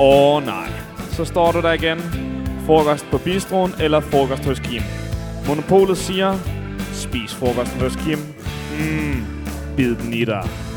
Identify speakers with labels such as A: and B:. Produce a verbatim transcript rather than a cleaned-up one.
A: Åh oh, nej. Så står du der igen. Frokost på bistroen eller frokost hos Kim. Monopolet siger, spis frokosten hos Kim. Mmm, bid den i dig.